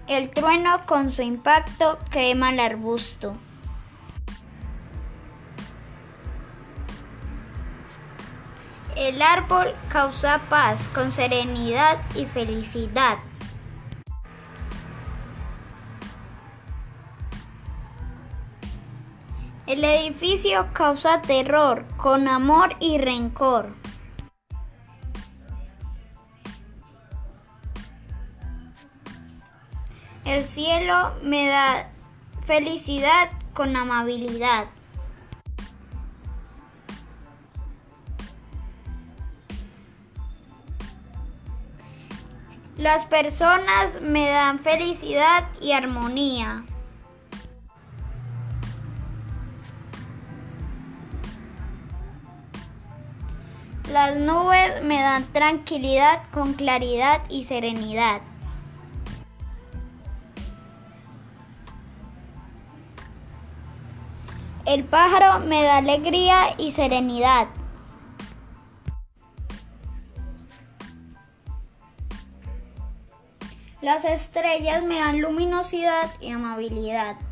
El trueno con su impacto quema el arbusto. El árbol causa paz con serenidad y felicidad. El edificio causa terror con amor y rencor. El cielo me da felicidad con amabilidad. Las personas me dan felicidad y armonía. Las nubes me dan tranquilidad con claridad y serenidad. El pájaro me da alegría y serenidad. Las estrellas me dan luminosidad y amabilidad.